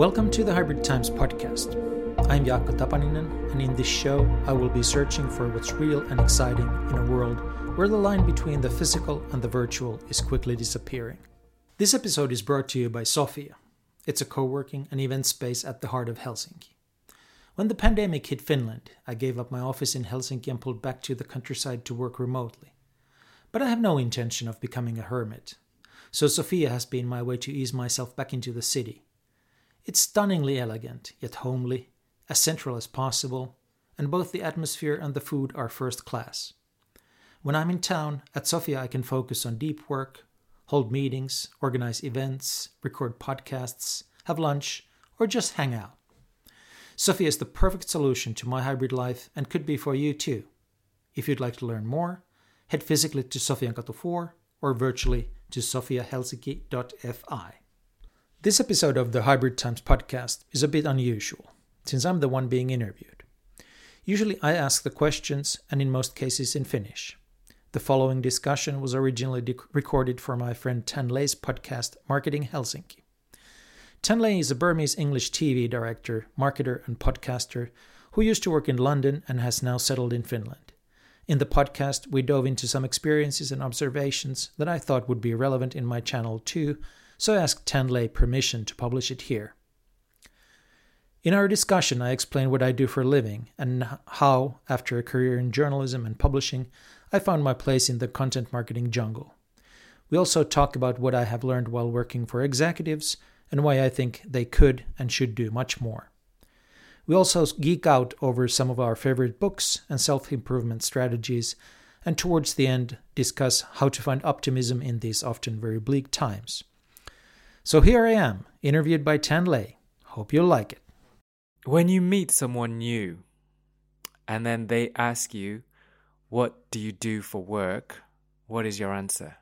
Welcome to the Hybrid Times podcast. I'm Jaakko Tapaninen, and in this show, I will be searching for what's real and exciting in a world where the line between the physical and the virtual is quickly disappearing. This episode is brought to you by Sofia. It's a co-working and event space at the heart of Helsinki. When the pandemic hit Finland, I gave up my office in Helsinki and pulled back to the countryside to work remotely. But I have no intention of becoming a hermit. So Sofia has been my way to ease myself back into the city. It's stunningly elegant, yet homely, as central as possible, and both the atmosphere and the food are first class. When I'm in town, at Sofia I can focus on deep work, hold meetings, organize events, record podcasts, have lunch, or just hang out. Sofia is the perfect solution to my hybrid life and could be for you too. If you'd like to learn more, head physically to Sofiankatu 4 or virtually to sofiahelsinki.fi. This episode of the Hybrid Times podcast is a bit unusual, since I'm the one being interviewed. Usually I ask the questions, and in most cases in Finnish. The following discussion was originally recorded for my friend Tan Lei's podcast, Marketing Helsinki. Tan Lei is a Burmese English TV director, marketer, and podcaster who used to work in London and has now settled in Finland. In the podcast, we dove into some experiences and observations that I thought would be relevant in my channel too, so I asked Tan Lei permission to publish it here. In our discussion, I explained what I do for a living and how, after a career in journalism and publishing, I found my place in the content marketing jungle. We also talk about what I have learned while working for executives and why I think they could and should do much more. We also geek out over some of our favorite books and self-improvement strategies, and towards the end discuss how to find optimism in these often very bleak times. So here I am, interviewed by Tan Lei. Hope you'll like it. When you meet someone new and then they ask you, what do you do for work? What is your answer?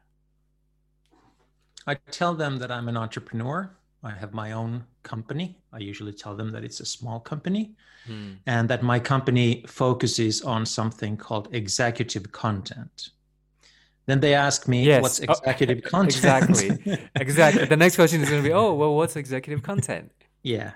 I tell them that I'm an entrepreneur. I have my own company. I usually tell them that it's a small company and that my company focuses on something called executive content. Then they ask me, what's executive content? Exactly. The next question is going to be, what's executive content? Yeah.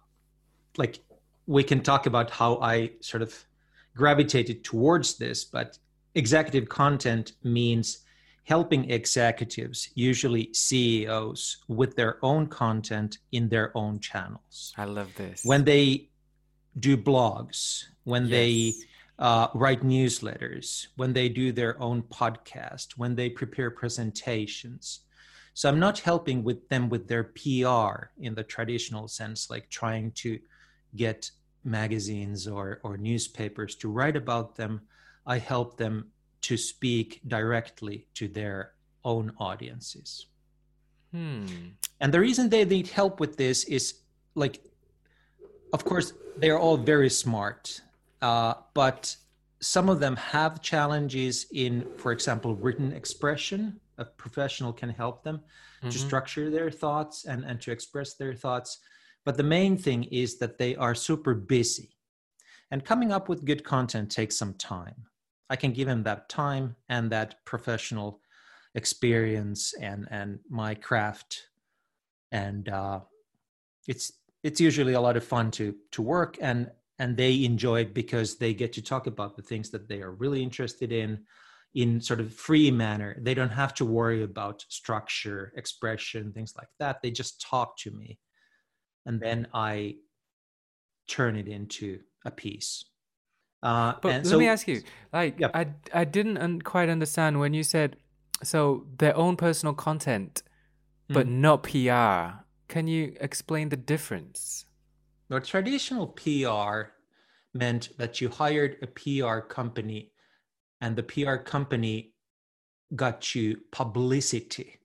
We can talk about how I sort of gravitated towards this, but executive content means helping executives, usually CEOs, with their own content in their own channels. I love this. When they do blogs, when they write newsletters, when they do their own podcast, when they prepare presentations. So I'm not helping with them with their PR in the traditional sense, like trying to get magazines or newspapers to write about them. I help them to speak directly to their own audiences. And the reason they need help with this is, of course, they're all very smart. But some of them have challenges in, for example, written expression. A professional can help them to structure their thoughts and to express their thoughts. But the main thing is that they are super busy. And coming up with good content takes some time. I can give them that time and that professional experience and my craft. And it's usually a lot of fun to work, and they enjoy it because they get to talk about the things that they are really interested in sort of free manner. They don't have to worry about structure, expression, things like that. They just talk to me, and then I turn it into a piece. But let me ask you, I didn't quite understand when you said, so their own personal content, but not PR. Can you explain the difference? Well, traditional PR meant that you hired a PR company and the PR company got you publicity.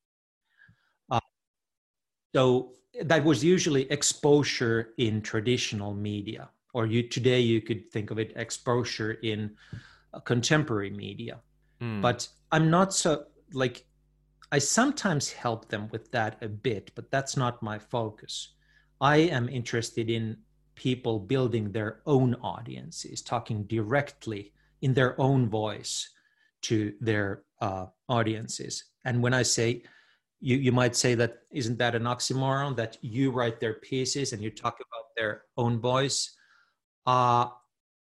So that was usually exposure in traditional media, or today you could think of it exposure in contemporary media. But I'm not so, I sometimes help them with that a bit, but that's not my focus. I am interested in people building their own audiences, talking directly in their own voice to their audiences. And when I say you might say that, isn't that an oxymoron, that you write their pieces and you talk about their own voice? I'm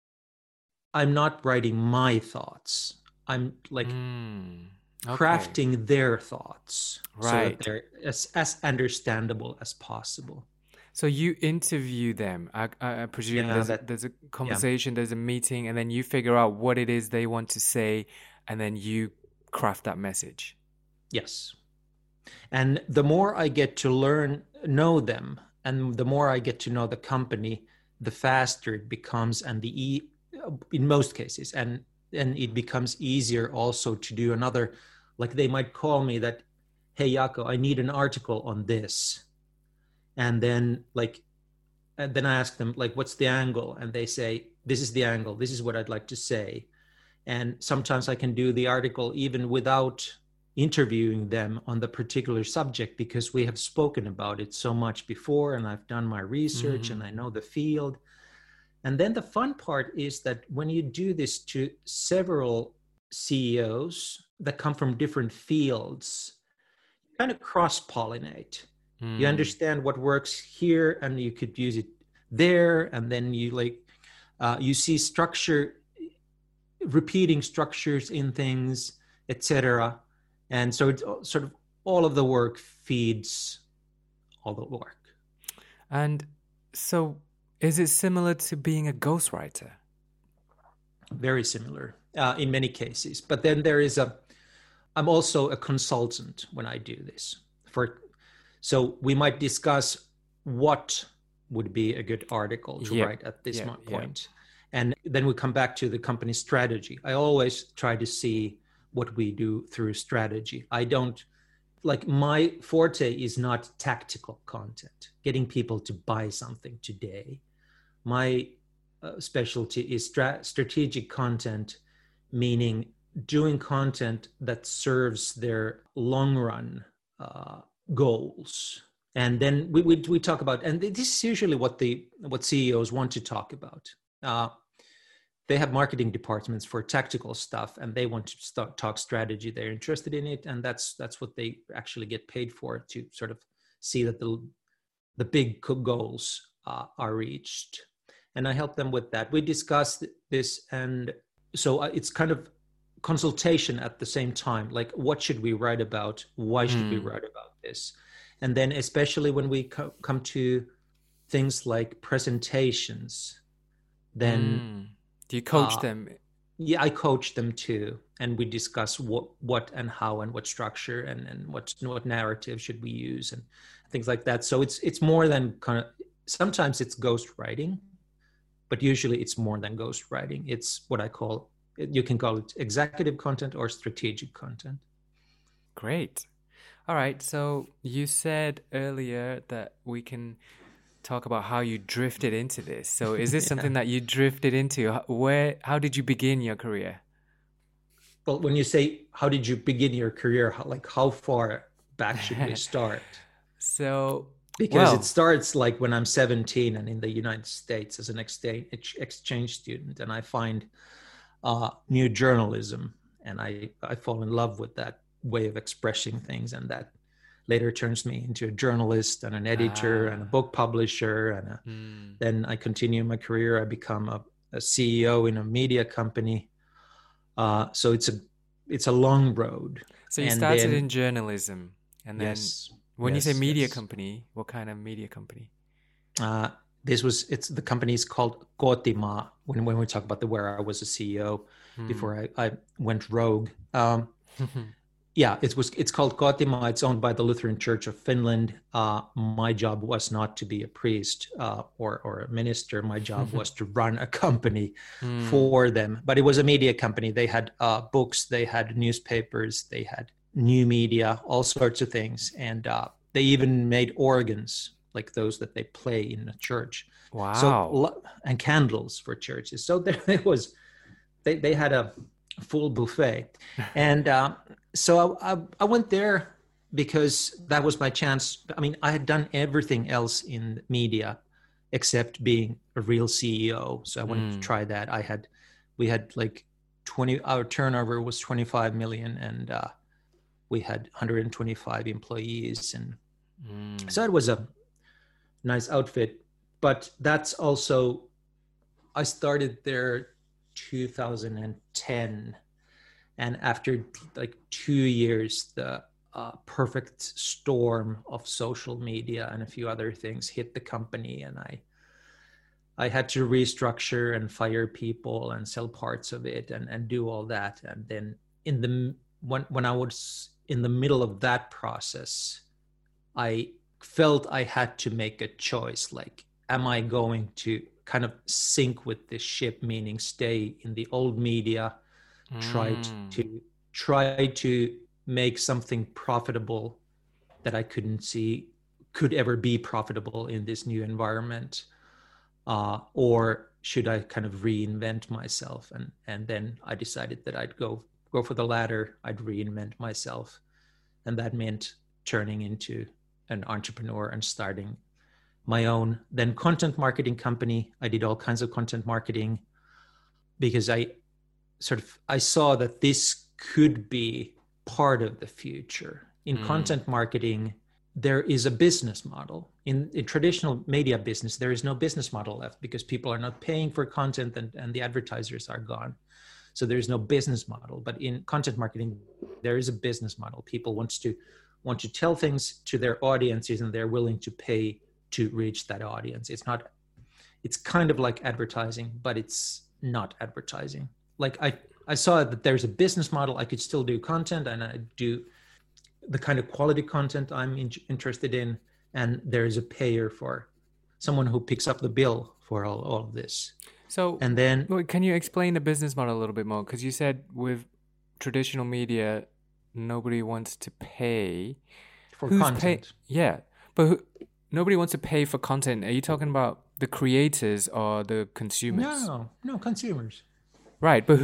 not writing my thoughts. I'm like crafting their thoughts, so that they're as understandable as possible. So you interview them. I presume there's a conversation, there's a meeting, and then you figure out what it is they want to say, and then you craft that message. Yes. And the more I get to know them, and the more I get to know the company, the faster it becomes, and in most cases, and it becomes easier also to do another, like they might call me that, hey, Jaakko, I need an article on this. And then I ask them, like, what's the angle? And they say, this is the angle. This is what I'd like to say. And sometimes I can do the article even without interviewing them on the particular subject, because we have spoken about it so much before, and I've done my research and I know the field. And then the fun part is that when you do this to several CEOs that come from different fields, you kind of cross-pollinate. You understand what works here, and you could use it there, and then you see structure, repeating structures in things, etc. And so it's sort of all of the work feeds all the work. And so is it similar to being a ghostwriter? Very similar in many cases. But then I'm also a consultant when I do this. So we might discuss what would be a good article to write at this point. And then we come back to the company strategy. I always try to see what we do through strategy. I don't, my forte is not tactical content, getting people to buy something today. My specialty is strategic content, meaning doing content that serves their long run goals. And then we talk about, and this is usually what CEOs want to talk about. They have marketing departments for tactical stuff, and they want to talk strategy. They're interested in it, and that's what they actually get paid for, to sort of see that the big goals are reached. And I help them with that. We discuss this, and so it's kind of consultation at the same time. Like, what should we write about? Why should we write about this? And then especially when we come to things like presentations, then do you coach them? Yeah, I coach them too, and we discuss what and how and what structure and what narrative should we use and things like that. So it's more than kind of, sometimes it's ghostwriting, but usually it's more than ghostwriting. It's what I call, you can call it executive content or strategic content. Great. All right. So you said earlier that we can talk about how you drifted into this. So is this something that you drifted into? How did you begin your career? Well, when you say, how did you begin your career, how far back should we start? Because it starts like when I'm 17 and in the United States as an exchange student, and I find new journalism, and I fall in love with that way of expressing things, and that later turns me into a journalist and an editor and a book publisher, and then I continue my career. I become a CEO in a media company. So it's a long road. So you started in journalism, and then when you say media company, what kind of media company? The company is called Kotimaa. When we talk about where I was a CEO before I went rogue. It's called Kotimaa. It's owned by the Lutheran Church of Finland. My job was not to be a priest or a minister. My job was to run a company for them. But it was a media company. They had books, they had newspapers, they had new media, all sorts of things. And they even made organs, like those that they play in the church. Wow. So, and candles for churches. So there it was. They had a full buffet. And so I went there because that was my chance. I mean, I had done everything else in media except being a real CEO. So I wanted to try that. We had like our turnover was 25 million, and we had 125 employees, and so it was a nice outfit. But that's also, I started there 2010, and after like 2 years, the perfect storm of social media and a few other things hit the company, and I had to restructure and fire people and sell parts of it and do all that. And then when I was in the middle of that process, I felt I had to make a choice. Like, am I going to kind of sink with this ship, meaning stay in the old media, try to make something profitable that I couldn't see could ever be profitable in this new environment? Or should I kind of reinvent myself? And then I decided that I'd go for the latter. I'd reinvent myself. And that meant turning into an entrepreneur and starting my own then content marketing company. I did all kinds of content marketing because I saw that this could be part of the future. In content marketing, there is a business model. In traditional media business, there is no business model left because people are not paying for content and the advertisers are gone. So there's no business model. But in content marketing, there is a business model. People want to tell things to their audiences, and they're willing to pay to reach that audience. It's kind of like advertising, but it's not advertising. Like I saw that there's a business model. I could still do content, and I do the kind of quality content I'm interested in, and there is a payer for someone who picks up the bill for all of this. So, and then can you explain the business model a little bit more? Because you said with traditional media, nobody wants to pay for content. But nobody wants to pay for content. Are you talking about the creators or the consumers? No, consumers. Right, but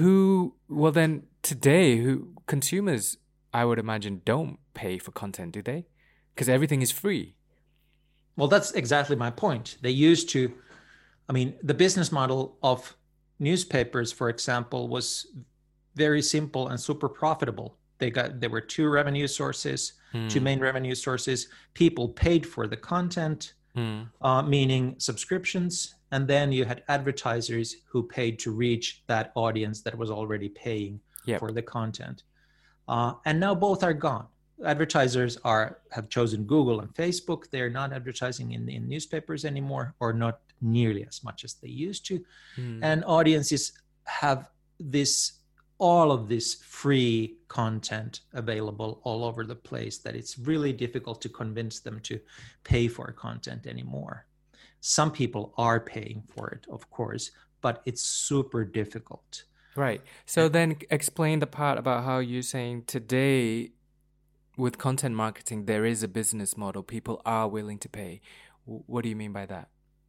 consumers, I would imagine, don't pay for content, do they? Because everything is free. Well, that's exactly my point. They used to, the business model of newspapers, for example, was very simple and super profitable. There were two revenue sources, two main revenue sources. People paid for the content, meaning subscriptions. And then you had advertisers who paid to reach that audience that was already paying for the content. And now both are gone. Advertisers have chosen Google and Facebook. They're not advertising in newspapers anymore, or not nearly as much as they used to. And audiences have all of this free content available all over the place that it's really difficult to convince them to pay for content anymore. Some people are paying for it, of course, but it's super difficult. Right. So then explain the part about how you're saying today with content marketing, there is a business model. People are willing to pay. What do you mean by that?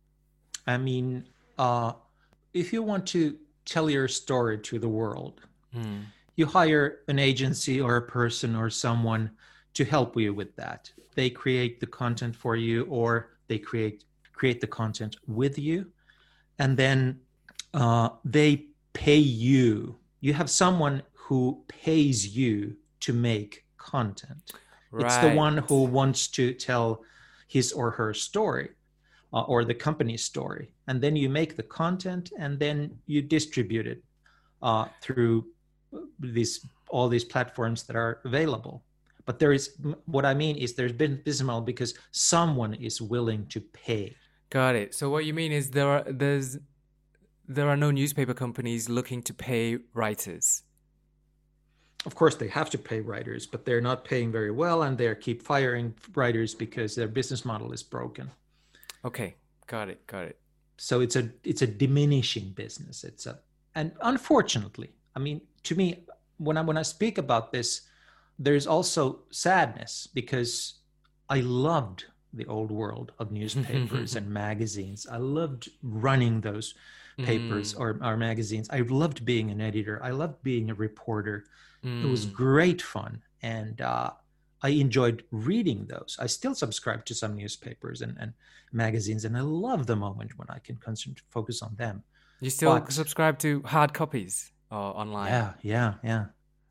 If you want to tell your story to the world, you hire an agency or a person or someone to help you with that. They create the content for you, or they create the content with you, and then they pay you. You have someone who pays you to make content. Right. It's the one who wants to tell his or her story, or the company's story, and then you make the content, and then you distribute it through all these platforms that are available. But there's been business model because someone is willing to pay. Got it. So what you mean is there are no newspaper companies looking to pay writers. Of course, they have to pay writers, but they're not paying very well, and they keep firing writers because their business model is broken. Okay, got it. So it's a diminishing business. And unfortunately, to me, when I speak about this, there's also sadness, because I loved the old world of newspapers and magazines. I loved running those papers or magazines. I loved being an editor. I loved being a reporter. It was great fun. And I enjoyed reading those. I still subscribe to some newspapers and magazines, and I love the moment when I can focus on them. You still subscribe to hard copies or online? Yeah.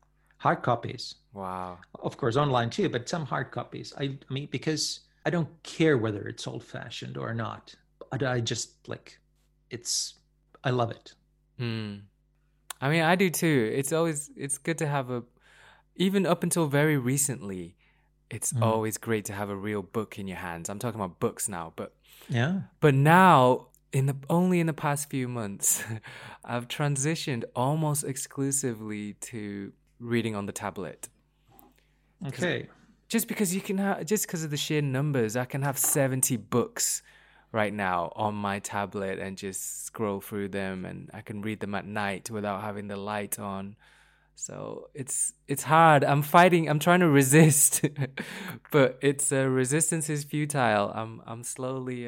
Hard copies. Wow. Of course, online too, but some hard copies. I mean, because I don't care whether it's old-fashioned or not. I just like, I love it. I mean, I do too. It's good to have even up until very recently, it's always great to have a real book in your hands. I'm talking about books now, but now only in the past few months, I've transitioned almost exclusively to reading on the tablet. Okay. Just because just because of the sheer numbers, I can have 70 books right now on my tablet and just scroll through them, and I can read them at night without having the light on. So it's hard. I'm trying to resist, but resistance is futile. I'm slowly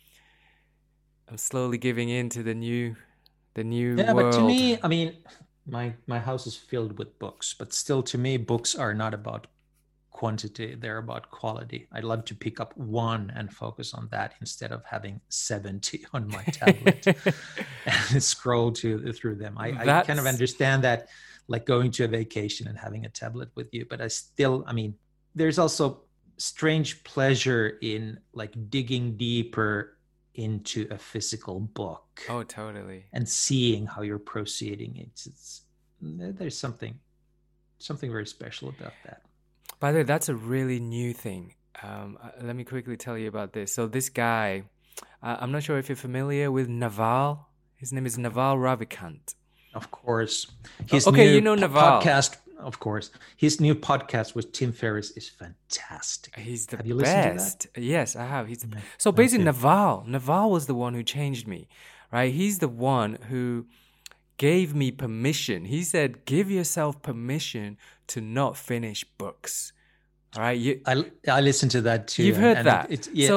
giving in to the new world. But to me, I mean, my house is filled with books, but still, to me, books are not about quantity, they're about quality. I'd love to pick up one and focus on that instead of having 70 on my tablet and scroll through them. I kind of understand that, like going to a vacation and having a tablet with you, but I mean, there's also strange pleasure in like digging deeper into a physical book. Oh, totally. And seeing how you're proceeding. There's something very special about that. By the way, that's a really new thing. Let me quickly tell you about this. So this guy, I'm not sure if you're familiar with Naval. His name is Naval Ravikant. Of course. You know Naval. Podcast, of course. His new podcast with Tim Ferriss is fantastic. He's the have you best. Listened to that? Yes, I have. So basically, Naval was the one who changed me, right? He's the one who gave me permission. He said, give yourself permission to not finish books. All right. I listened to that too. You've heard that.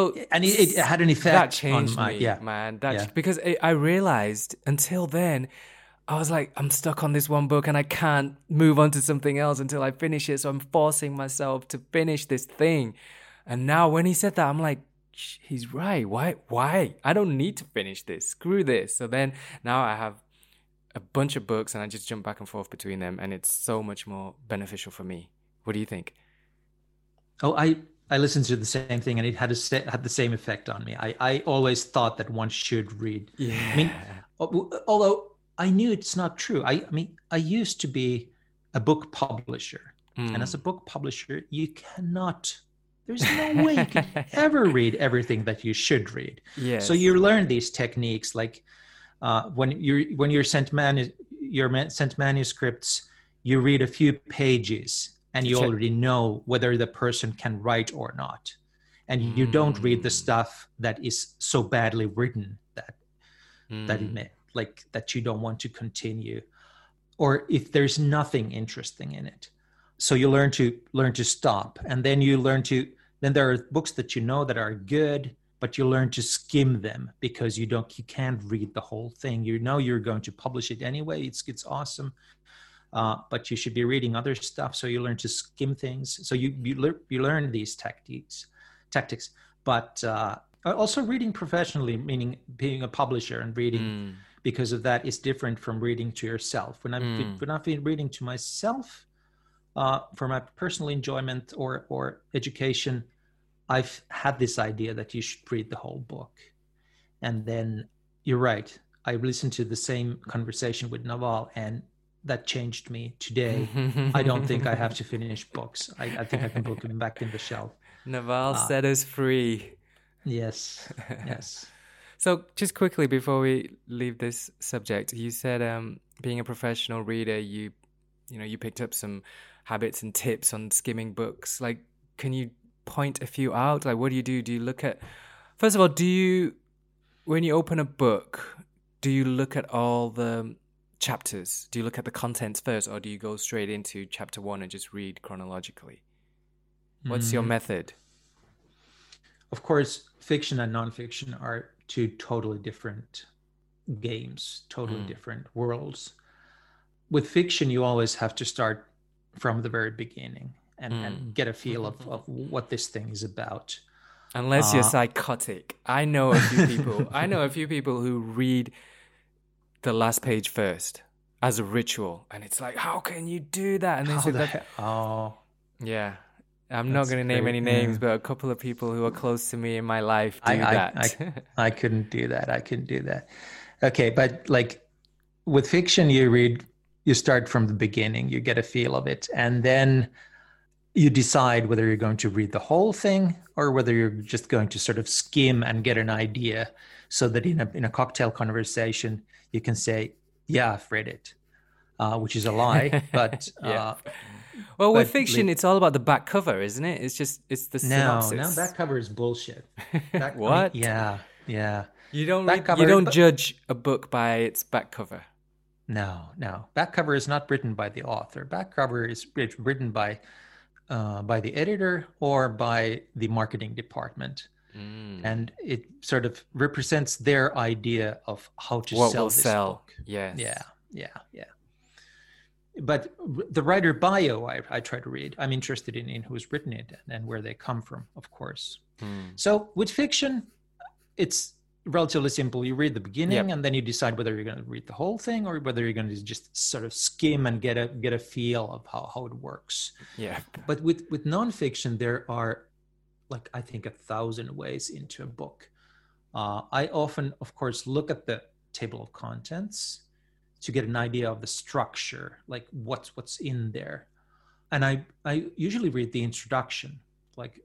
It had an effect. That changed me, man. Because I realized until then, I was like, I'm stuck on this one book and I can't move on to something else until I finish it. So I'm forcing myself to finish this thing. And now when he said that, I'm like, he's right. Why? I don't need to finish this. Screw this. So then now I have a bunch of books and I just jump back and forth between them, and it's so much more beneficial for me. What do you think? Oh, I listened to the same thing and it had the same effect on me. I always thought that one should read. Yeah. I mean, although I knew it's not true. I mean, I used to be a book publisher, and as a book publisher, there's no way you can ever read everything that you should read. Yes. So you learn these techniques, like when you're sent manuscripts, you read a few pages and you already know whether the person can write or not, and you don't read the stuff that is so badly written that that you don't want to continue, or if there's nothing interesting in it. So you learn to stop, and then then there are books that you know that are good, but you learn to skim them because you can't read the whole thing. You know you're going to publish it anyway. It's awesome, but you should be reading other stuff. So you learn to skim things. So you learn these tactics, but also reading professionally, meaning being a publisher and reading because of that is different from reading to yourself. When I've been reading to myself for my personal enjoyment or education, I've had this idea that you should read the whole book. And then you're right. I listened to the same conversation with Naval, and that changed me today. I don't think I have to finish books. I think I can put them back in the shelf. Naval set us free. Yes. So just quickly before we leave this subject, you said being a professional reader, you picked up some habits and tips on skimming books. Like, can you point a few out? Like, what do you do? Do you look at, first of all, when you open a book, do you look at all the chapters? Do you look at the contents first, or do you go straight into chapter 1 and just read chronologically? What's your method? Of course, fiction and nonfiction are two totally different games, totally different worlds. With fiction, you always have to start from the very beginning and get a feel of what this thing is about. Unless you're psychotic. I know a few people who read the last page first. as a ritual, and it's like, how can you do that? And they say that. Oh, yeah. I'm not going to name any names, but a couple of people who are close to me in my life do that. I couldn't do that. I couldn't do that. Okay, but like with fiction, you start from the beginning, you get a feel of it, and then you decide whether you're going to read the whole thing or whether you're just going to sort of skim and get an idea, so that in a cocktail conversation you can say, "Yeah, I've read it," which is a lie, but. Yeah. Well, with fiction, it's all about the back cover, isn't it? It's the synopsis. No, back cover is bullshit. What? Yeah. You don't judge a book by its back cover. No. Back cover is not written by the author. Back cover is written by the editor or by the marketing department, and it sort of represents their idea of how to sell this book. Yes. Yeah. But the writer bio, I try to read. I'm interested in who's written it and where they come from, of course. So with fiction, it's relatively simple. You read the beginning, and then you decide whether you're going to read the whole thing or whether you're going to just sort of skim and get a feel of how it works. Yeah. But with nonfiction, there are, like, I think 1,000 ways into a book. I often, of course, look at the table of contents to get an idea of the structure, like what's in there. And I usually read the introduction, like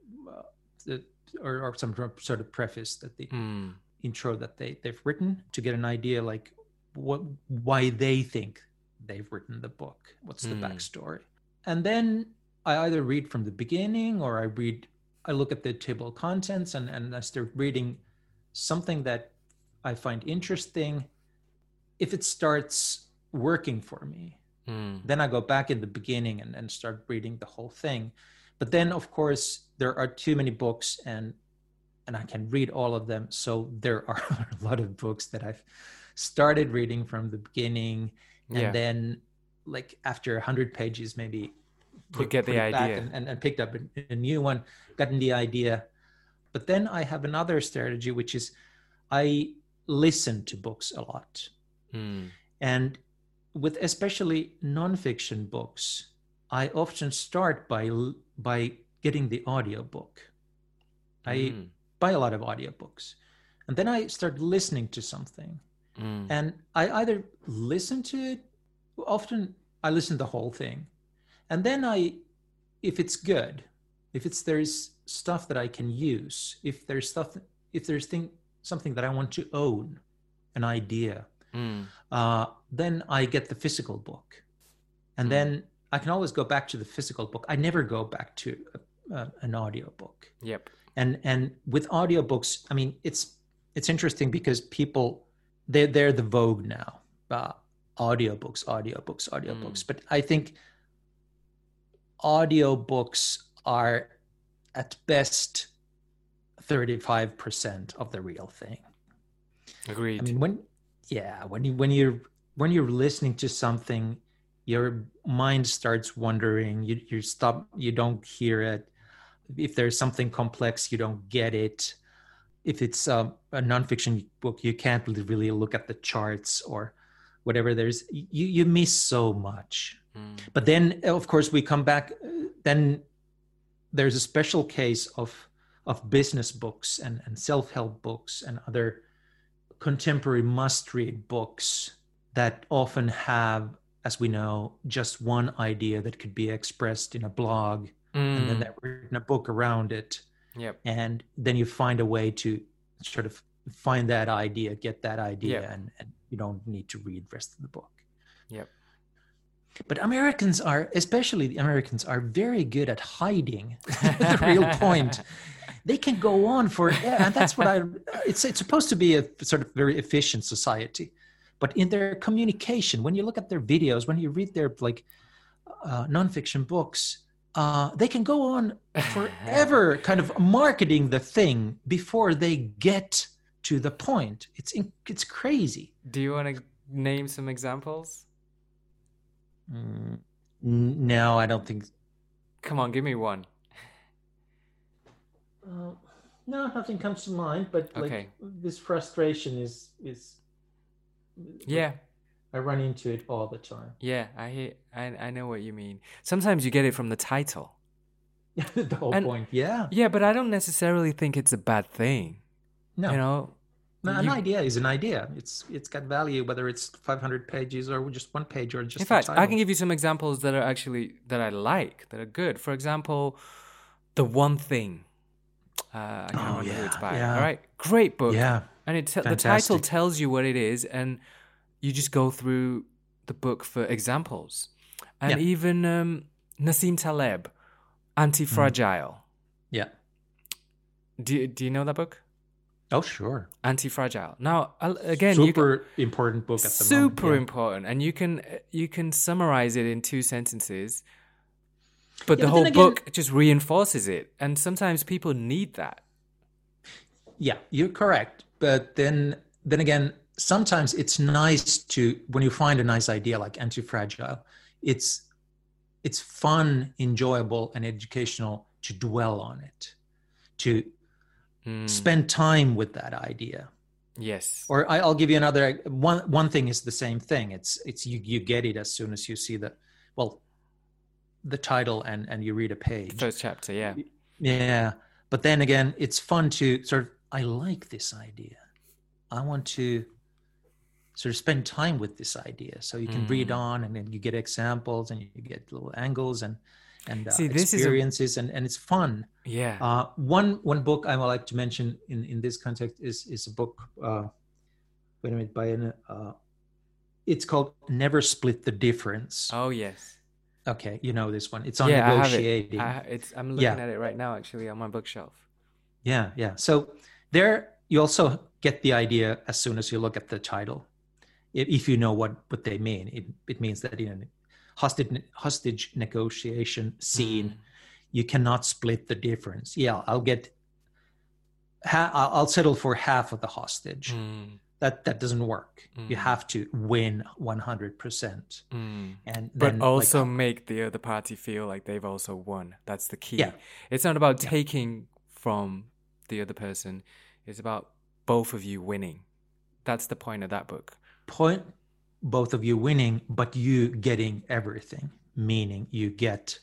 or some sort of preface that the intro that they've written, to get an idea like why they think they've written the book, what's the backstory. And then I either read from the beginning or I look at the table of contents and I start reading something that I find interesting. If it starts working for me, then I go back in the beginning and start reading the whole thing. But then, of course, there are too many books and I can read all of them. So there are a lot of books that I've started reading from the beginning, and then, like, after 100 pages, maybe you get the idea and picked up a new one, gotten the idea. But then I have another strategy, which is I listen to books a lot. And with especially nonfiction books, I often start by getting the audiobook. I buy a lot of audiobooks, and then I start listening to something. And I either listen to it, often I listen to the whole thing. And then if it's good, there's stuff that I can use, if there's something that I want to own, an idea, then I get the physical book. And then I can always go back to the physical book. I never go back to an audiobook. Yep. And with audiobooks, I mean, it's interesting because people, they're the vogue now. Audiobooks. But I think audiobooks are at best 35% of the real thing. Agreed. I mean, when you're listening to something, your mind starts wandering. You stop. You don't hear it. If there's something complex, you don't get it. If it's a nonfiction book, you can't really look at the charts or whatever. You miss so much. But then, of course, we come back. Then there's a special case of business books and self-help books and other contemporary must-read books that often have, as we know, just one idea that could be expressed in a blog, and then they've written a book around it. Yep. And then you find a way to sort of find that idea, get that idea, and you don't need to read the rest of the book. Yep. But especially the Americans, are very good at hiding the real point. They can go on and that's what it's supposed to be a sort of very efficient society. But in their communication, when you look at their videos, when you read their nonfiction books, they can go on forever kind of marketing the thing before they get to the point. It's crazy. Do you want to name some examples? No, I don't think. Come on, give me one. No, nothing comes to mind. But this frustration is. Yeah. I run into it all the time. Yeah, I know what you mean. Sometimes you get it from the title. The whole point, yeah. Yeah, but I don't necessarily think it's a bad thing. No. You know? An idea is an idea. It's got value, whether it's 500 pages or just one page or just in fact, I can give you some examples that are actually, that I like, that are good. For example, The One Thing. I can't remember who it's by. All right, great book. Yeah. And the title tells you what it is, and you just go through the book for examples. And even Nassim Taleb, Anti-Fragile. Yeah. Do you know that book? Oh, sure. Anti-Fragile. Now, again, super important book at the moment. Super important, and you can summarize it in 2 sentences, but the whole book just reinforces it, and sometimes people need that. Yeah, you're correct. But then again, sometimes it's nice to, when you find a nice idea like Anti-Fragile, it's fun, enjoyable, and educational to dwell on it, to spend time with that idea. Yes. Or I'll give you another one thing is the same thing. It's you get it as soon as you see the title and you read a page. The first chapter, yeah. Yeah. But then again, it's fun to sort of, I like this idea. I want to sort of spend time with this idea. So you can read on, and then you get examples and you get little angles and see, experiences, and it's fun. Yeah. One book I would like to mention in this context is a book. Wait a minute, it's called Never Split the Difference. Oh yes. Okay, you know this one. It's on negotiating. I'm looking at it right now, actually, on my bookshelf. Yeah. So there, you also get the idea as soon as you look at the title. If you know what they mean, it means that in a hostage negotiation scene, you cannot split the difference. Yeah, I'll settle for half of the hostage. That doesn't work. You have to win 100%. And then, also make the other party feel like they've also won. That's the key. Yeah. It's not about taking from the other person. It's about both of you winning. That's the point of that book. Both of you winning, but you getting everything, meaning you get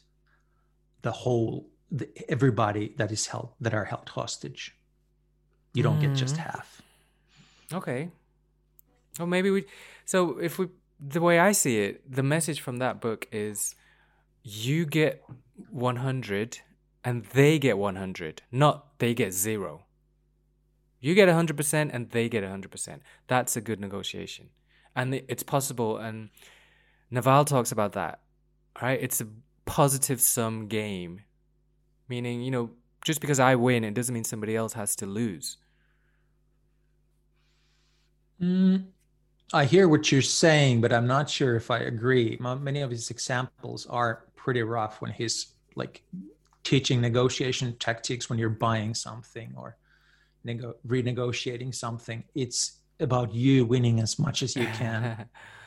everybody that are held hostage. You don't get just half. Okay. Well, maybe the way I see it, the message from that book is you get 100 and they get 100, not they get 0. You get 100% and they get 100%. That's a good negotiation. And it's possible. And Naval talks about that, right? It's a positive sum game, meaning, just because I win, it doesn't mean somebody else has to lose. I hear what you're saying, but I'm not sure if I agree. Many of his examples are pretty rough when he's like teaching negotiation tactics when you're buying something or renegotiating something. It's about you winning as much as you can.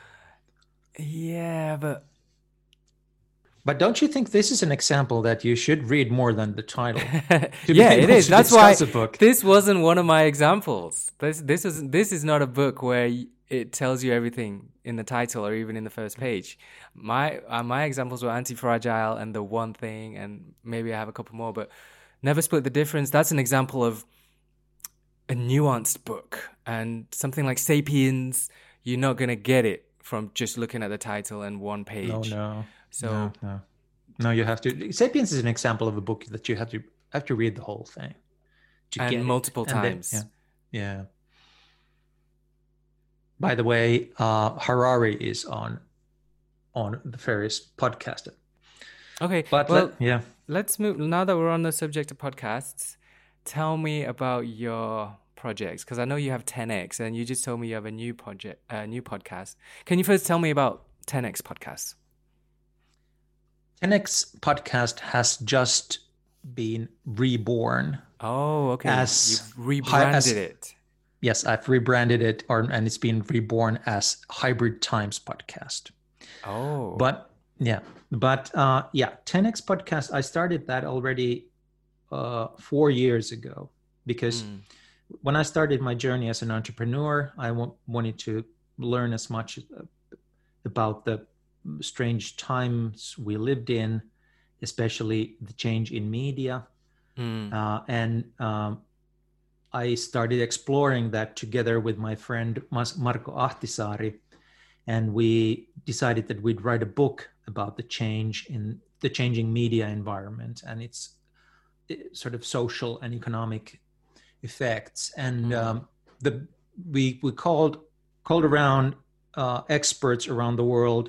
Yeah, but don't you think this is an example that you should read more than the title? Yeah, it is. That's why this wasn't one of my examples. This is not a book where it tells you everything in the title or even in the first page. My examples were Anti-Fragile and The One Thing, and maybe I have a couple more, but Never Split the Difference. That's an example of a nuanced book. And something like Sapiens, you're not going to get it from just looking at the title and one page. No. No, you have to. Sapiens is an example of a book that you have to read the whole thing to get multiple times. Then, yeah. By the way, Harari is on the Ferris podcast. Okay, but let's move. Now that we're on the subject of podcasts, tell me about your projects, because I know you have 10x, and you just told me you have a new podcast. Can you first tell me about 10x podcast? 10x podcast has just been reborn. Oh, okay. You've rebranded it. Yes, I've rebranded it, and it's been reborn as Hybrid Times Podcast. Oh. But 10x Podcast, I started that already 4 years ago, because when I started my journey as an entrepreneur, I wanted to learn as much about the strange times we lived in, especially the change in media. I started exploring that together with my friend Marko Ahtisaari, and we decided that we'd write a book about the change in the changing media environment and its sort of social and economic effects. And we called around experts around the world.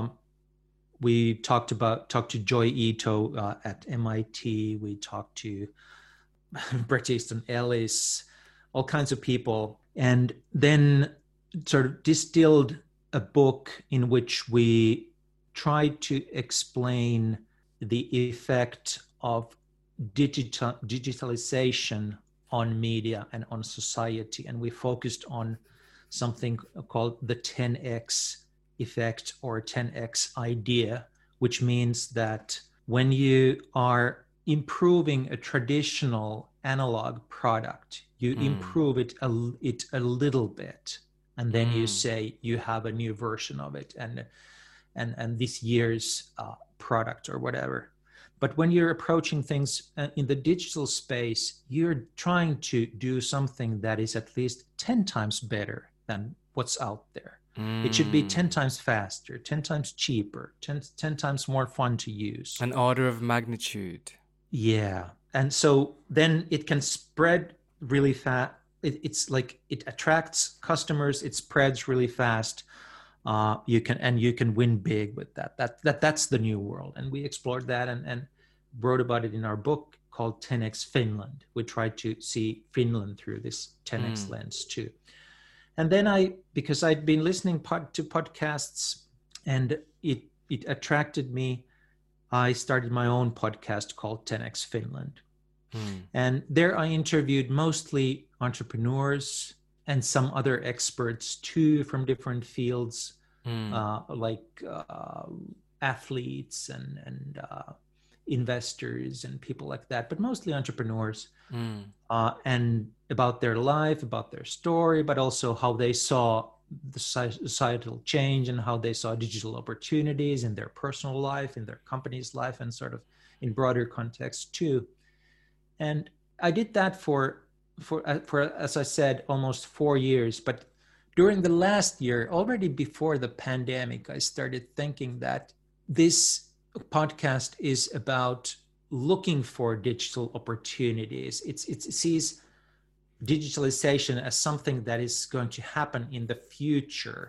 We talked to Joy Ito at MIT. We talked to Bret Easton Ellis, all kinds of people, and then sort of distilled a book in which we tried to explain the effect of digitalization on media and on society. And we focused on something called the 10x effect or 10x idea, which means that when you are improving a traditional analog product, you improve it a little bit, and then you say you have a new version of it and this year's product or whatever. But when you're approaching things in the digital space, you're trying to do something that is at least 10 times better than what's out there. It should be 10 times faster, 10 times cheaper, 10 times more fun to use. An order of magnitude. Yeah. And so then it can spread really fast. It's like it attracts customers, it spreads really fast. You can win big with that. That's the new world. And we explored that and wrote about it in our book called 10x Finland. We tried to see Finland through this 10x lens too. And then because I'd been listening to podcasts and it attracted me, I started my own podcast called 10x Finland. And there I interviewed mostly entrepreneurs and some other experts too from different fields, like athletes and investors and people like that, but mostly entrepreneurs, and about their life, about their story, but also how they saw the societal change and how they saw digital opportunities in their personal life, in their company's life, and sort of in broader context too. And I did that for as I said, almost 4 years. But during the last year, already before the pandemic, I started thinking that this podcast is about looking for digital opportunities. It sees digitalization as something that is going to happen in the future.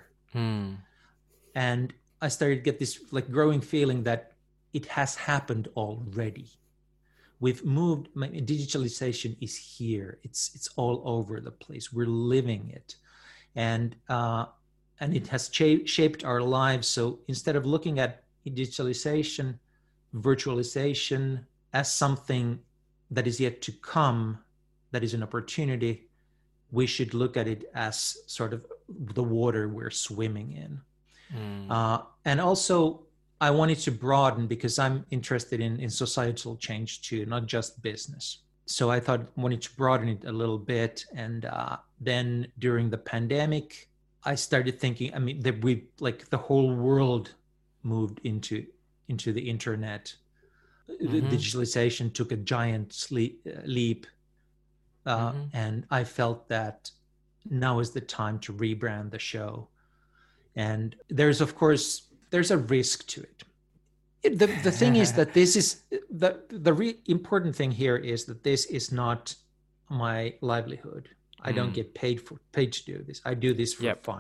And I started to get this like growing feeling that it has happened already. We've moved, digitalization is here. It's all over the place. We're living it. And it has shaped our lives. So instead of looking at digitalization, virtualization as something that is yet to come, that is an opportunity, we should look at it as sort of the water we're swimming in. And also, I wanted to broaden because I'm interested in societal change too, not just business. So I wanted to broaden it a little bit. And then during the pandemic, I started thinking, that the whole world moved into the internet. The digitalization took a giant leap. And I felt that now is the time to rebrand the show. And there's a risk to it. The thing is that this is the important thing here is that this is not my livelihood. I don't get paid to do this. I do this for fun.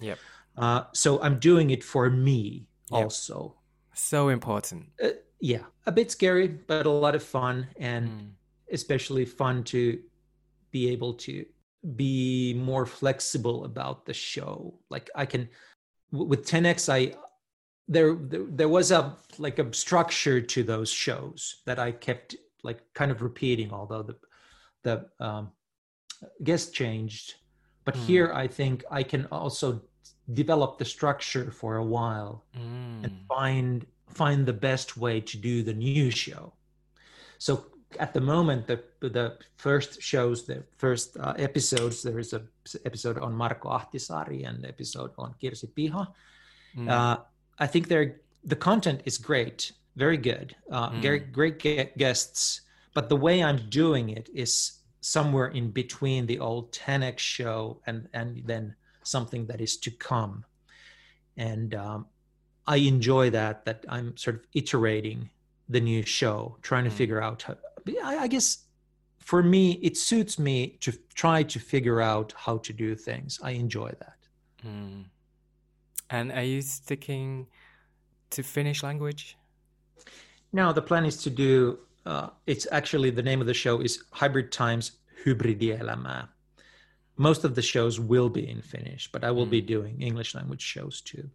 So I'm doing it for me also. So important. A bit scary, but a lot of fun, and especially fun to be able to be more flexible about the show. Like I can, with 10X, there was a structure to those shows that I kept like kind of repeating, although the guest changed. But here I think I can also develop the structure for a while and find the best way to do the new show. So at the moment, the first shows, the first episodes, there is an episode on Marko Ahtisaari and episode on Kirsi Piha. I think the content is great, very good, great guests, but the way I'm doing it is somewhere in between the old 10X show and then something that is to come. And I enjoy that I'm sort of iterating the new show, trying to figure out how, I guess for me, it suits me to try to figure out how to do things. I enjoy that. And are you sticking to Finnish language? No, the plan is to do, it's actually, the name of the show is Hybrid Times Hybridielämää. Most of the shows will be in Finnish, but I will be doing English language shows too.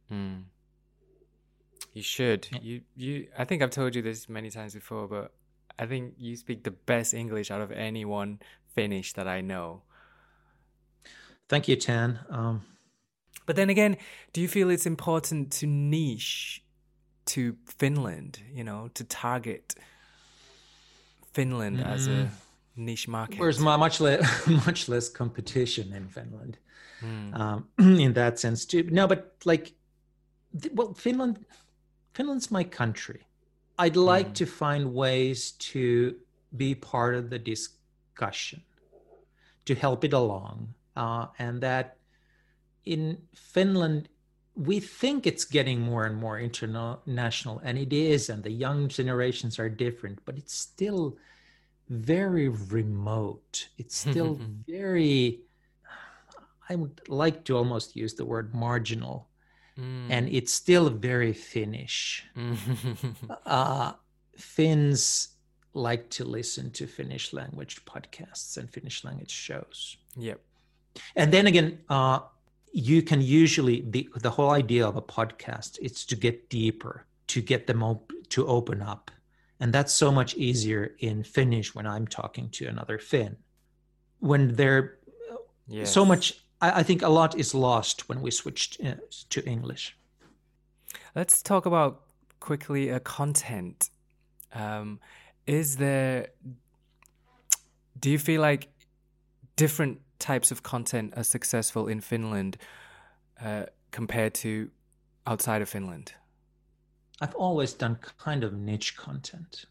You should. You. I think I've told you this many times before, but I think you speak the best English out of anyone Finnish that I know. Thank you, Tan. But then again, do you feel it's important to niche to Finland, to target Finland as a niche market? There's much less competition in Finland in that sense too. No, but Finland's my country. I'd like to find ways to be part of the discussion, to help it along, and that in Finland, we think it's getting more and more international, and it is, and the young generations are different, but it's still very remote. It's still very, I would like to almost use the word marginal, and it's still very Finnish. Finns like to listen to Finnish language podcasts and Finnish language shows. Yep. And then again, you can usually, the whole idea of a podcast is to get deeper, to get them to open up. And that's so much easier in Finnish when I'm talking to another Finn. When they're so much, I think a lot is lost when we switch to English. Let's talk about quickly content. Do you feel like different types of content are successful in Finland compared to outside of Finland? I've always done kind of niche content.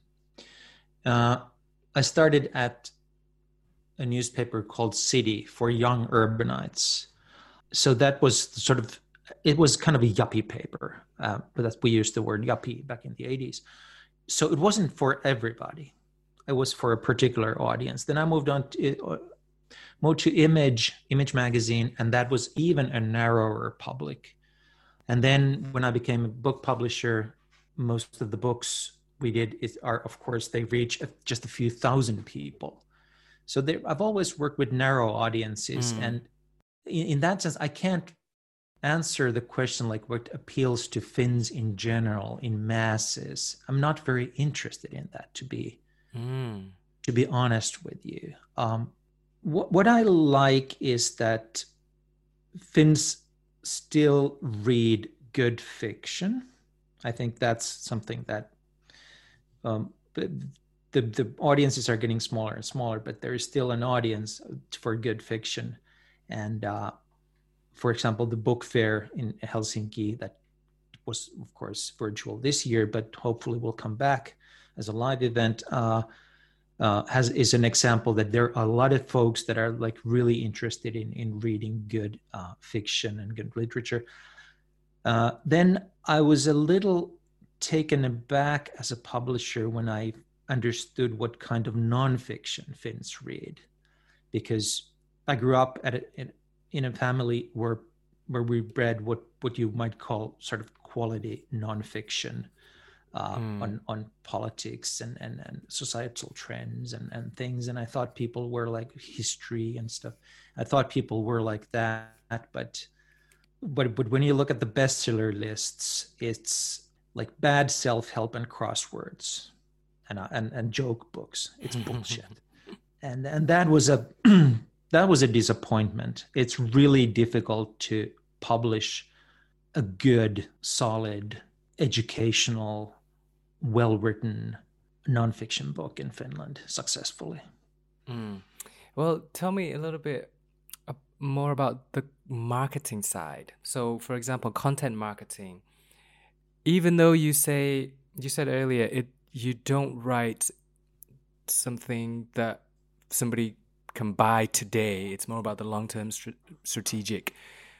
I started at a newspaper called City for young urbanites. So that was it was kind of a yuppie paper, but we used the word yuppie back in the 80s. So it wasn't for everybody. It was for a particular audience. Then I moved to Image Magazine, and that was even a narrower public. And then when I became a book publisher, most of the books we did of course, they reach just a few thousand people. So I've always worked with narrow audiences. And in that sense, I can't answer the question like what appeals to Finns in general, in masses. I'm not very interested in that, to be honest with you. What I like is that Finns still read good fiction. I think that's something that the audiences are getting smaller and smaller, but there is still an audience for good fiction. And for example, the book fair in Helsinki that was, of course, virtual this year, but hopefully will come back as a live event, is an example that there are a lot of folks that are like really interested in reading good fiction and good literature. Then I was a little taken aback as a publisher when I understood what kind of nonfiction Finns read, because I grew up in a family where we read what you might call sort of quality nonfiction on politics and societal trends and things. And I thought people were like history and stuff. I thought people were like that, but when you look at the bestseller lists, it's like bad self-help and crosswords and joke books. It's bullshit. And that was a disappointment. It's really difficult to publish a good, solid, educational, well-written nonfiction book in Finland successfully. Well, tell me a little bit more about the marketing side. So, for example, content marketing. Even though you said earlier, you don't write something that somebody can buy today. It's more about the long-term strategic,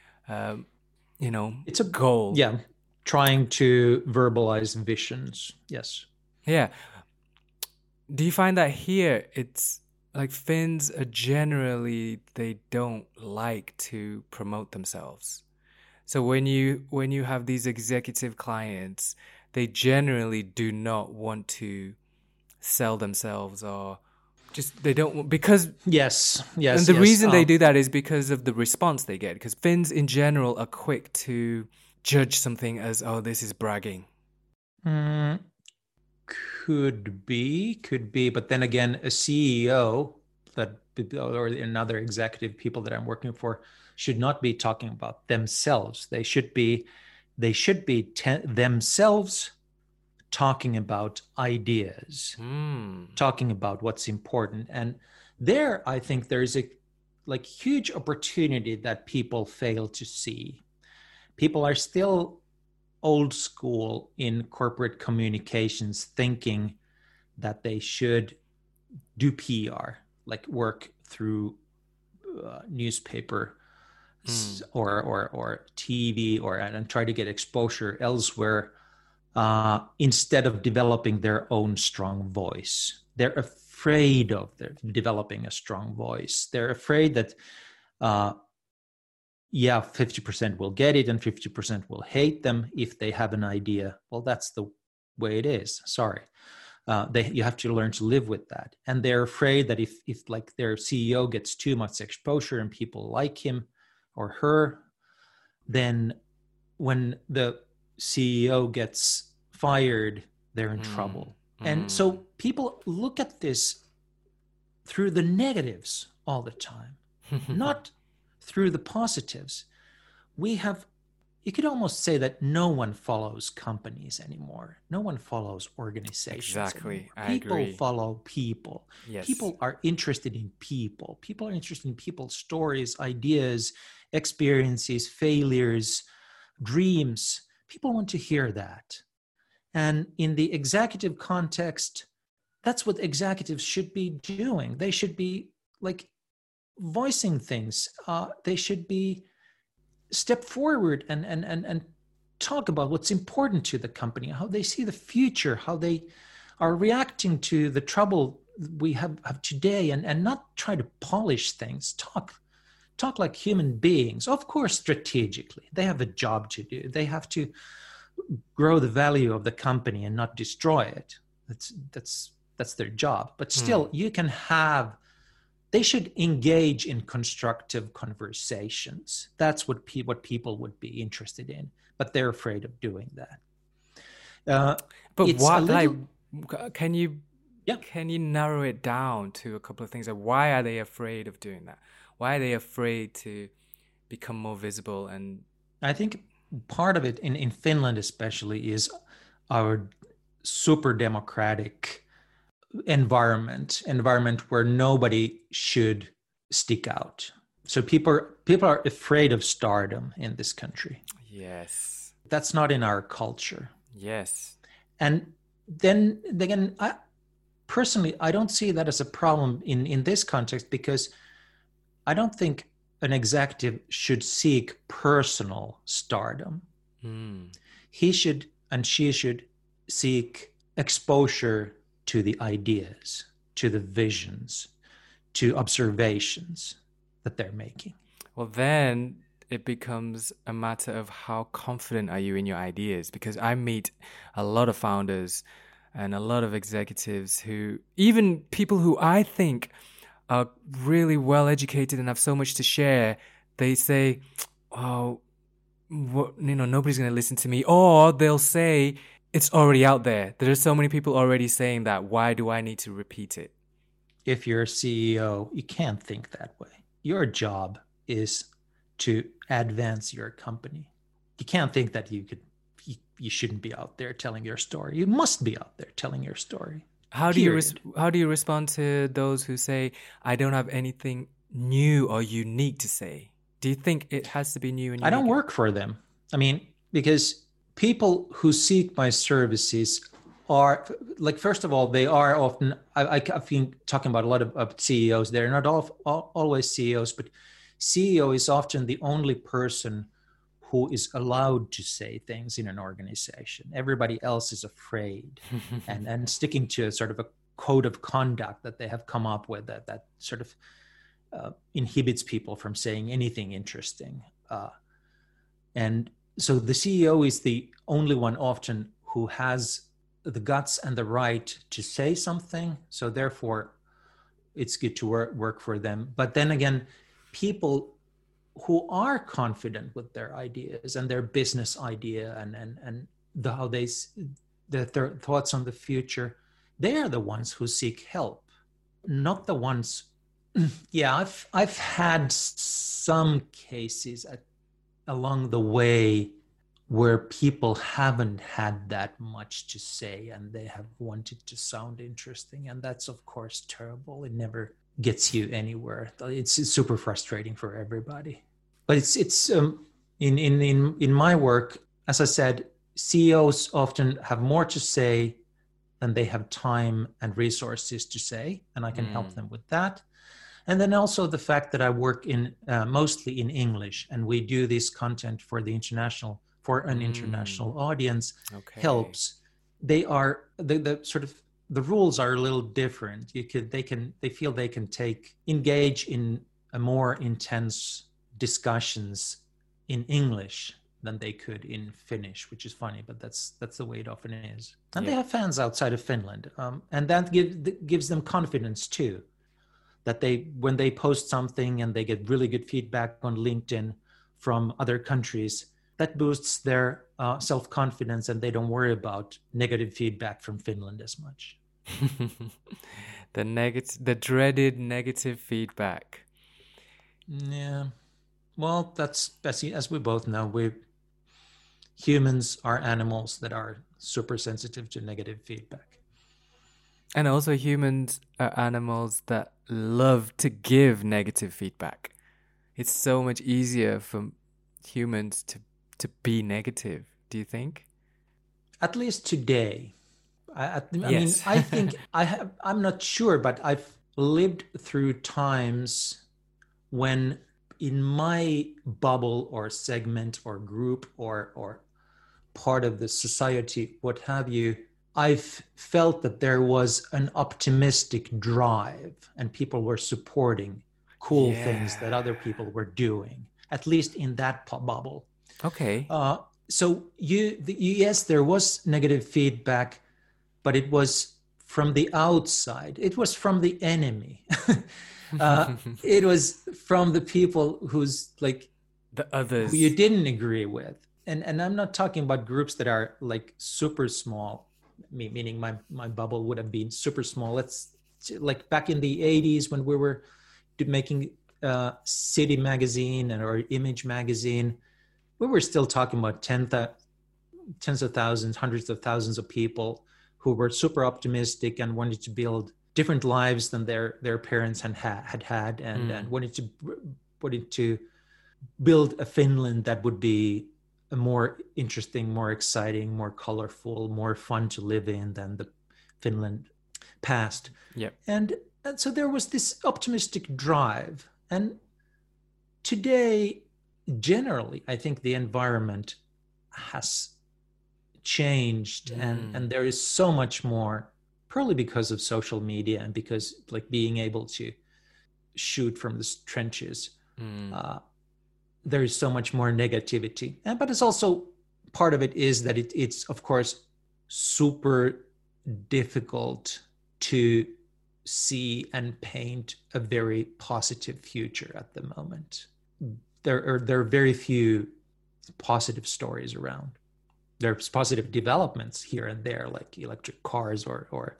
it's a goal. Yeah, trying to verbalize visions. Yes. Yeah. Do you find that here it's like Finns are generally, they don't like to promote themselves. So when you have these executive clients, they generally do not want to sell themselves, or just they don't, because yes. And the reason they do that is because of the response they get. Because Finns in general are quick to judge something as, oh, this is bragging. Could be, but then again, a CEO or another executive, people that I'm working for, should not be talking about themselves. They should be themselves talking about ideas, talking about what's important. And there, I think there's a huge opportunity that people fail to see. People are still old school in corporate communications, thinking that they should do PR, like work through newspaper or TV, and try to get exposure elsewhere, instead of developing their own strong voice. They're afraid of developing a strong voice. They're afraid that 50% will get it and 50% will hate them if they have an idea. Well, that's the way it is. Sorry. You have to learn to live with that. And they're afraid that if like their CEO gets too much exposure and people like him or her, then when the CEO gets fired, they're in trouble. And so people look at this through the negatives all the time, not through the positives. You could almost say that no one follows companies anymore. No one follows organizations. Exactly. People follow people. Yes. People are interested in people. People are interested in people's stories, ideas, experiences, failures, dreams. People want to hear that. And in the executive context, that's what executives should be doing. They should be voicing things. They should be step forward and talk about what's important to the company, how they see the future, how they are reacting to the trouble we have today, and not try to polish things. Talk like human beings. Of course, strategically, they have a job to do. They have to grow the value of the company and not destroy it. That's their job. But still, they should engage in constructive conversations. That's what people would be interested in, but they're afraid of doing that. But can you narrow it down to a couple of things? Why are they afraid of doing that? Why are they afraid to become more visible? And I think part of it in Finland especially is our super democratic environment where nobody should stick out. So people are afraid of stardom in this country. Yes. That's not in our culture. Yes. And then again, personally, I don't see that as a problem in this context, because I don't think an executive should seek personal stardom. He should and she should seek exposure to the ideas, to the visions, to observations that they're making. Well, then it becomes a matter of how confident are you in your ideas, because I meet a lot of founders and a lot of executives who, even people who I think are really well educated and have so much to share, they say, oh, nobody's going to listen to me. Or they'll say, it's already out there. There are so many people already saying that. Why do I need to repeat it? If you're a CEO, you can't think that way. Your job is to advance your company. You can't think that you shouldn't be out there telling your story. You must be out there telling your story. How do you respond to those who say, I don't have anything new or unique to say? Do you think it has to be new and unique? I don't work for them. I mean, because people who seek my services are, like, first of all, they are often, I've been talking about a lot of CEOs. They're not always CEOs, but CEO is often the only person who is allowed to say things in an organization. Everybody else is afraid and sticking to a sort of a code of conduct that they have come up with that sort of inhibits people from saying anything interesting. And so the CEO is the only one often who has the guts and the right to say something. So therefore, it's good to work for them. But then again, people who are confident with their ideas and their business idea and how their thoughts on the future, they are the ones who seek help, not the ones. Yeah, I've had some cases along the way where people haven't had that much to say and they have wanted to sound interesting, and that's of course terrible. It never gets you anywhere. It's super frustrating for everybody. But it's in my work, as I said, CEOs often have more to say than they have time and resources to say, and I can help them with that. And then also the fact that I work in mostly in English, and we do this content for an international audience, helps. They are the sort of, the rules are a little different. They feel they can engage in a more intense discussions in English than they could in Finnish, which is funny, but that's the way it often is. And they have fans outside of Finland, and that gives them confidence too. That when they post something and they get really good feedback on LinkedIn from other countries, that boosts their self-confidence, and they don't worry about negative feedback from Finland as much. The dreaded negative feedback. Yeah. Well, that's as we both know, humans are animals that are super sensitive to negative feedback. And also humans are animals that love to give negative feedback. It's so much easier for humans to be negative, do you think? At least today. I mean, I think I'm not sure, but I've lived through times when in my bubble or segment or group or part of the society, what have you, I've felt that there was an optimistic drive and people were supporting cool things that other people were doing, at least in that bubble. Okay. So yes, there was negative feedback, but it was from the outside. It was from the enemy. It was from the people who's like the others who you didn't agree with. And I'm not talking about groups that are like super small, meaning my bubble would have been super small. Let's like back in the 80s when we were making City magazine or Image magazine, we were still talking about tens of thousands, hundreds of thousands of people who were super optimistic and wanted to build different lives than their parents had and wanted to build a Finland that would be a more interesting, more exciting, more colorful, more fun to live in than the Finland past. Yep. And so there was this optimistic drive. And today, generally, I think the environment has changed and there is so much more, probably because of social media and because like being able to shoot from the trenches, there is so much more negativity. But it's also, part of it is that it's of course super difficult to see and paint a very positive future at the moment. There are very few positive stories around. There's positive developments here and there, like electric cars or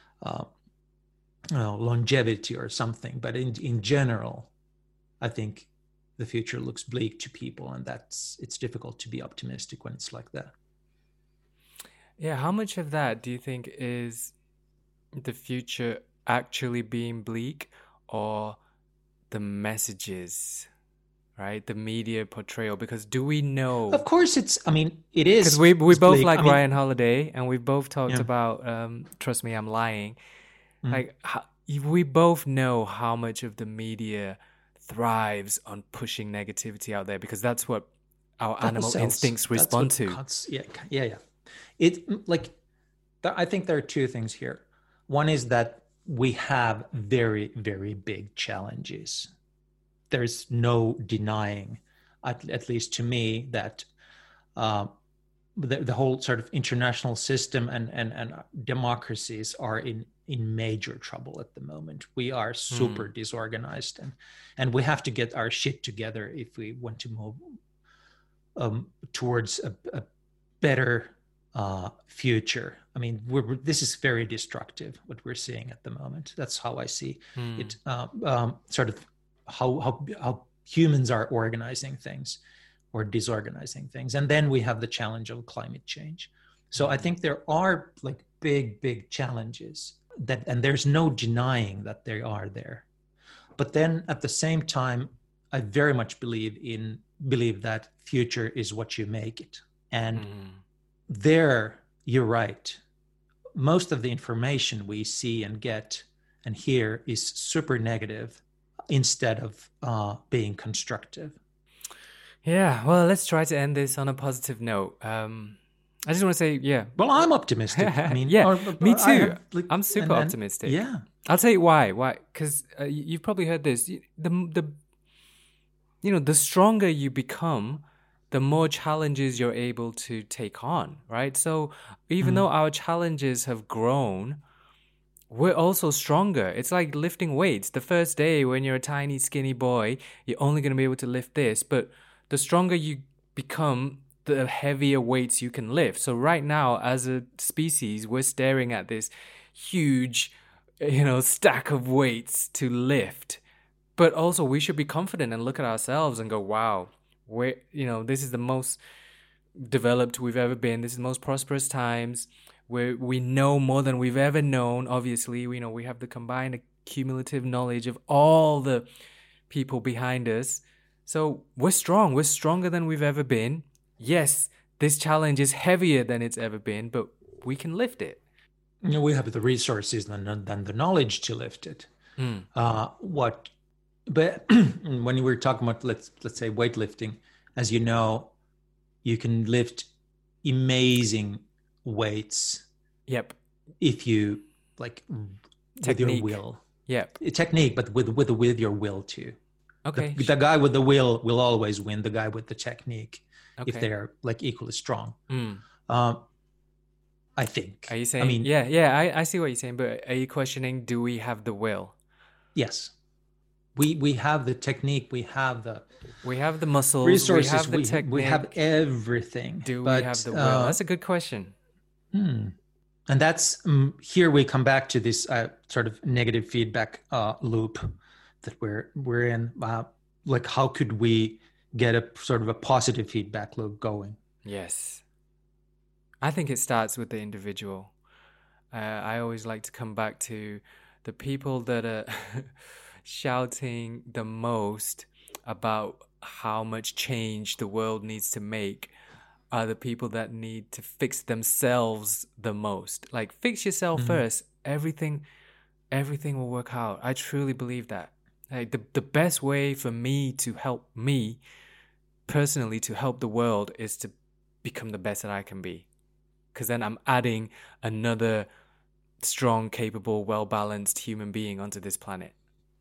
longevity or something. But in general, I think the future looks bleak to people, and it's difficult to be optimistic when it's like that. Yeah, how much of that do you think is the future actually being bleak, or the messages right? The media portrayal, because do we know? Of course, it is. Because we both like Ryan Holiday, and we both talked about Trust Me, I'm Lying. Like, we both know how much of the media thrives on pushing negativity out there, because that's what our animal instincts respond to. Yeah. I think there are two things here. One is that we have very, very big challenges. There's no denying, at least to me, that the whole sort of international system and democracies are in major trouble at the moment. We are super disorganized, and we have to get our shit together if we want to move towards a better future. I mean, this is very destructive, what we're seeing at the moment. That's how I see it, sort of how humans are organizing things or disorganizing things. And then we have the challenge of climate change. So I think there are like big challenges and there's no denying that they are there. But then at the same time, I very much believe that future is what you make it. And there, you're right. Most of the information we see and get and hear is super negative instead of being constructive. Yeah, well, let's try to end this on a positive note. I just want to say, yeah. Well, I'm optimistic. I mean, me too. I'm super optimistic. Yeah. I'll tell you why. Why? Because you've probably heard this. The stronger you become, the more challenges you're able to take on, right? So even though our challenges have grown, we're also stronger. It's like lifting weights. The first day when you're a tiny, skinny boy, you're only going to be able to lift this. But the stronger you become, the heavier weights you can lift. So right now, as a species, we're staring at this huge, stack of weights to lift. But also we should be confident and look at ourselves and go, wow, this is the most developed we've ever been. This is the most prosperous times. We know more than we've ever known. Obviously, we have the combined cumulative knowledge of all the people behind us. So we're strong. We're stronger than we've ever been. Yes, this challenge is heavier than it's ever been, but we can lift it. We have the resources and the knowledge to lift it. But when we were talking about, let's say, weightlifting, as you know, you can lift amazing weights. Yep. If you with your will. Yep. Technique, but with your will too. Okay. The guy with the will always win the guy with the technique, if they're equally strong. I think. Are you saying? I see what you're saying, but are you questioning? Do we have the will? Yes. We have the technique. We have the muscles. Resources. We have the technique. We have everything. Do we have the will? That's a good question. And that's here we come back to this sort of negative feedback loop that we're in. How could we get a sort of a positive feedback loop going? Yes, I think it starts with the individual. I always like to come back to the people that are shouting the most about how much change the world needs to make are the people that need to fix themselves the most. Like, fix yourself first. Everything will work out. I truly believe that. Like, the best way for me to help me personally to help the world is to become the best that I can be. Because then I'm adding another strong, capable, well-balanced human being onto this planet.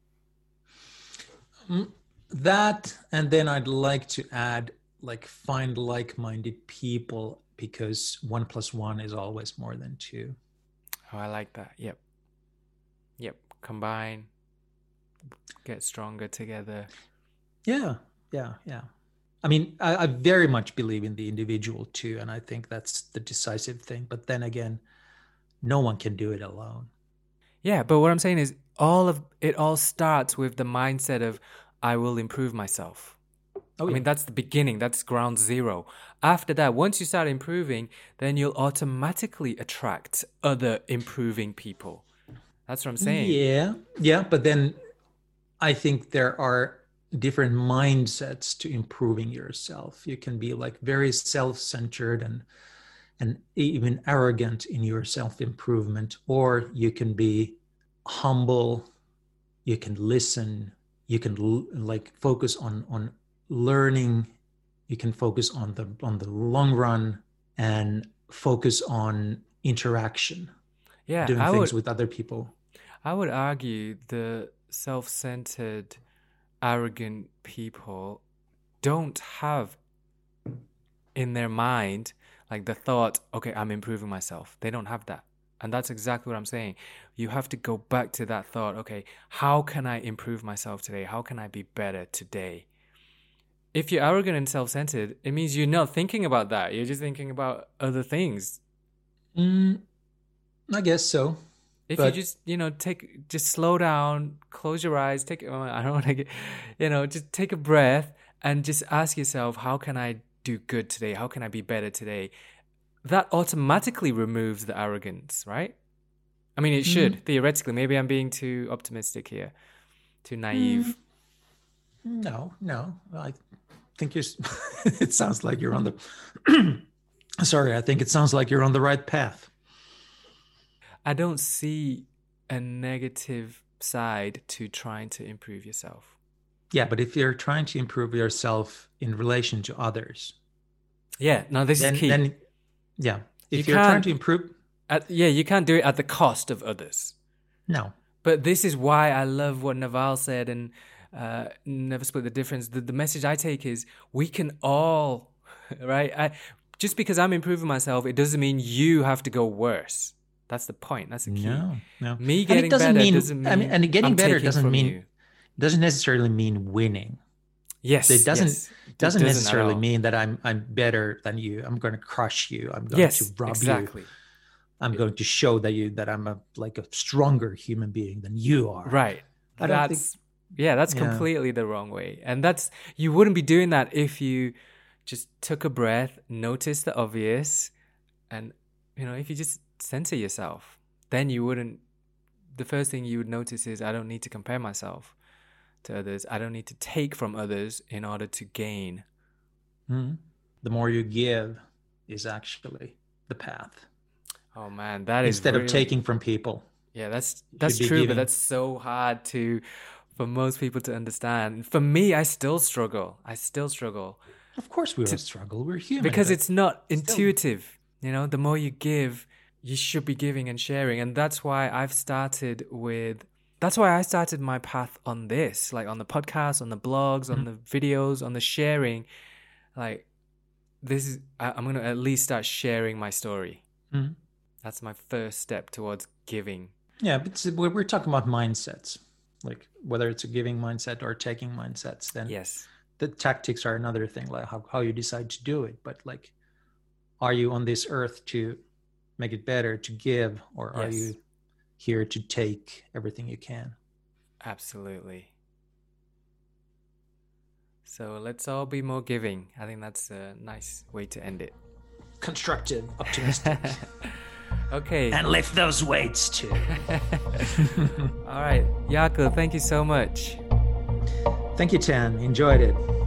That, and then I'd like to add, find like-minded people, because 1 + 1 is always more than 2. Oh, I like that. Yep. Combine, get stronger together. Yeah. I mean, I very much believe in the individual too, and I think that's the decisive thing. But then again, no one can do it alone. Yeah, but what I'm saying is it all starts with the mindset of, I will improve myself. I mean, that's the beginning. That's ground zero. After that, once you start improving, then you'll automatically attract other improving people. That's what I'm saying. Yeah. But then I think there are different mindsets to improving yourself. You can be like very self-centered and even arrogant in your self-improvement, or you can be humble, you can listen, you can like focus on learning, you can focus on the long run and focus on interaction, doing things with other people. I would argue the self-centered, arrogant people don't have in their mind like the thought, okay, I'm improving myself. They don't have that. And that's exactly what I'm saying. You have to go back to that thought, okay, how can I improve myself today? How can I be better today? If you're arrogant and self-centered, it means you're not thinking about that. You're just thinking about other things. I guess so. If you just slow down, close your eyes, I don't want to get, just take a breath and just ask yourself, how can I do good today? How can I be better today? That automatically removes the arrogance, right? I mean, it should, theoretically. Maybe I'm being too optimistic here, too naive. No. I think it sounds like you're on the, I think it sounds like you're on the right path. I don't see a negative side to trying to improve yourself. Yeah, but if you're trying to improve yourself in relation to others. Yeah, no, this is key. If you're trying to improve. You can't do it at the cost of others. No. But this is why I love what Naval said and Never Split the Difference. The message I take is we can all, right? Just because I'm improving myself, it doesn't mean you have to go worse. That's the point. That's the key. No. Me getting better doesn't mean and getting better doesn't necessarily mean winning. Yes. It doesn't necessarily mean that I'm better than you. I'm going to crush you. I'm going to rob you. I'm going to show that I'm a stronger human being than you are. Right. That's completely the wrong way. And you wouldn't be doing that if you just took a breath, noticed the obvious, and if you just center yourself, then you wouldn't. The first thing you would notice is I don't need to compare myself to others. I don't need to take from others in order to gain. The more you give is actually the path. Oh man, that is instead of taking from people. Yeah, that's true, but that's so hard for most people to understand. For me, I still struggle. Of course we all struggle. We're human. Because it's not intuitive. The more you give, you should be giving and sharing. And that's why I started my path on this, like on the podcast, on the blogs, on the videos, on the sharing. Like I'm going to at least start sharing my story. That's my first step towards giving. Yeah, but we're talking about mindsets, like whether it's a giving mindset or taking mindsets. Then yes, the tactics are another thing, like how you decide to do it. But are you on this earth to make it better, to give, or are you here to take everything you can? Absolutely. So let's all be more giving. I think that's a nice way to end it. Constructive, optimistic. Okay. And lift those weights too. All right. Jaakko, thank you so much. Thank you, Tan. Enjoyed it.